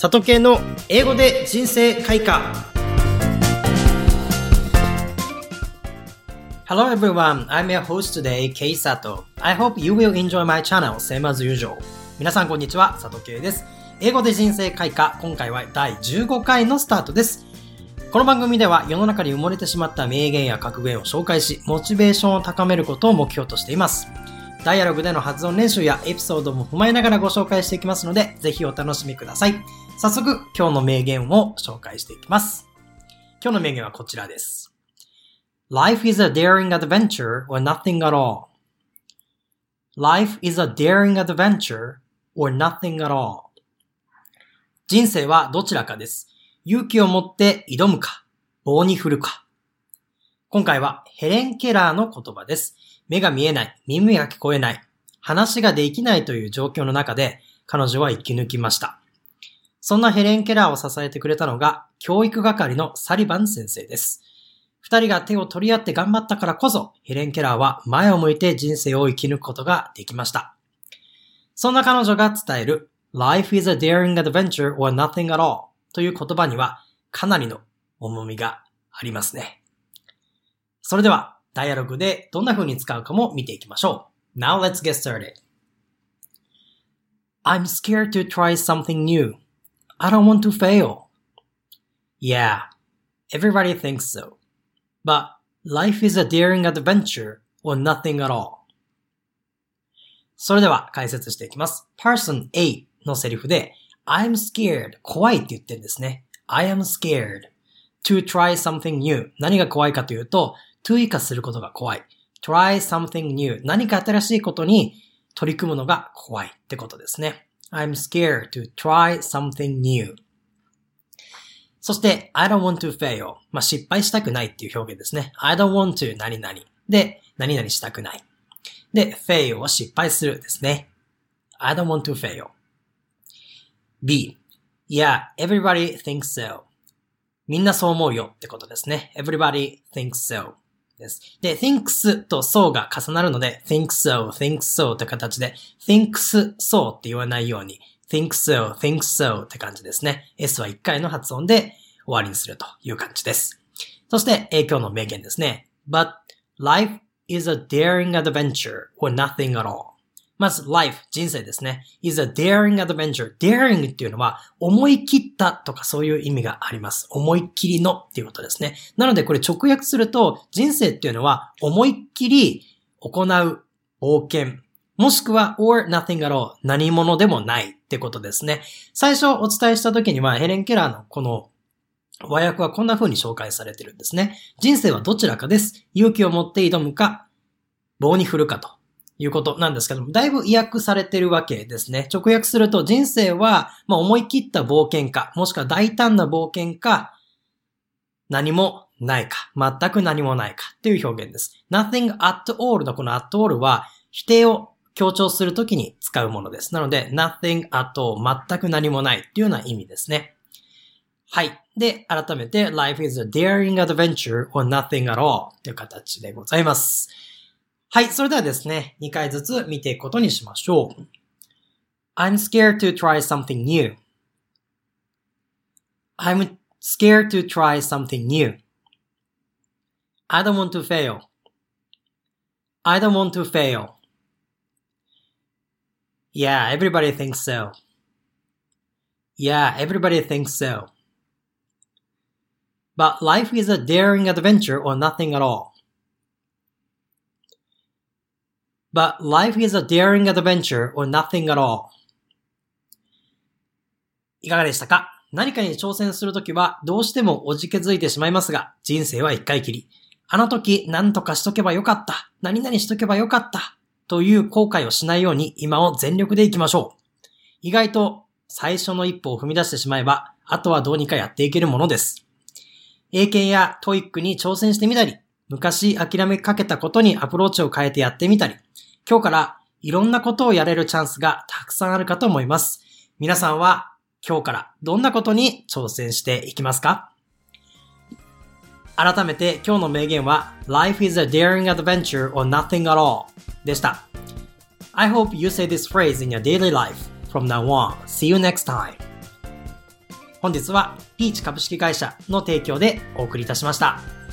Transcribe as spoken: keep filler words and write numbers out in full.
佐藤系の英語で人生開花。 Hello everyone, I'm your host today, Kei Sato. I hope you will enjoy my channel, same as usual. 皆さんこんにちは、佐藤系です。英語で人生開花、今回はだいじゅうごかいのスタートです。この番組では世の中に埋もれてしまった名言や格言を紹介し、モチベーションを高めることを目標としています。ダイアログでの発音練習やエピソードも踏まえながらご紹介していきますので、ぜひお楽しみください。早速、今日の名言を紹介していきます。今日の名言はこちらです。Life is a daring adventure or nothing at all. Life is a daring adventure or nothing at all. 人生はどちらかです。勇気を持って挑むか、棒に振るか。今回はヘレン・ケラーの言葉です。目が見えない、耳が聞こえない、話ができないという状況の中で彼女は生き抜きました。そんなヘレン・ケラーを支えてくれたのが教育係のサリバン先生です。二人が手を取り合って頑張ったからこそヘレン・ケラーは前を向いて人生を生き抜くことができました。そんな彼女が伝える Life is a daring adventure or nothing at all という言葉にはかなりの重みがありますね。それではダイアログでどんな風に使うかも見ていきましょう。Now let's get started. I'm scared to try something new. I don't want to fail. Yeah, everybody thinks so. But life is a daring adventure or nothing at all. それでは解説していきます。Person A のセリフで I'm scared 怖いって言ってるんですね。I am scared to try something new. 何が怖いかというとto 以下することが怖い。try something new. 何か新しいことに取り組むのが怖いってことですね。I'm scared to try something new. そして、I don't want to fail. まあ、失敗したくないっていう表現ですね。I don't want to 何々。で、何々したくない。で、fail は失敗するですね。I don't want to fail. B. Yeah, everybody thinks so. みんなそう思うよってことですね。Everybody thinks so.です。で、thinks と so が重なるので、think so, think so って形で、thinks so って言わないように、think so, think so って感じですね。S はいっかいの発音で終わりにするという感じです。そして、えー、今日の名言ですね。But life is a daring adventure or nothing at all. まず、life、人生ですね。is a daring adventure. daring っていうのは、思い切ったとかそういう意味があります。思いっきりのっていうことですね。なので、これ直訳すると、人生っていうのは、思いっきり行う冒険。もしくは、or nothing at all. 何者でもないってことですね。最初お伝えした時には、ヘレン・ケラーのこの和訳はこんな風に紹介されてるんですね。人生はどちらかです。勇気を持って挑むか、棒に振るかと。いうことなんですけども、だいぶ意訳されてるわけですね。直訳すると人生は、まあ、思い切った冒険か、もしくは大胆な冒険か、何もないか、全く何もないかっていう表現です。nothing at all のこの at all は否定を強調するときに使うものです。なので nothing at all 全く何もないっていうような意味ですね。はい。で、改めて life is a daring adventure or nothing at all という形でございます。はい、それではですね、にかいずつ見ていくことにしましょう。I'm scared to try something new. I'm scared to try something new. I don't want to fail. I don't want to fail. Yeah, everybody thinks so. Yeah, everybody thinks so. But life is a daring adventure or nothing at all.But life is a daring adventure or nothing at all. いかがでしたか？何かに挑戦するときはどうしてもおじけづいてしまいますが、人生は一回きり。あの時何とかしとけばよかった。何々しとけばよかった。という後悔をしないように今を全力でいきましょう。意外と最初の一歩を踏み出してしまえば、あとはどうにかやっていけるものです。英検やトイックに挑戦してみたり、昔諦めかけたことにアプローチを変えてやってみたり、今日からいろんなことをやれるチャンスがたくさんあるかと思います。皆さんは今日からどんなことに挑戦していきますか？改めて今日の名言は Life is a daring adventure or nothing at all でした。I hope you say this phrase in your daily life from now on. See you next time. 本日はピーチ株式会社の提供でお送りいたしました。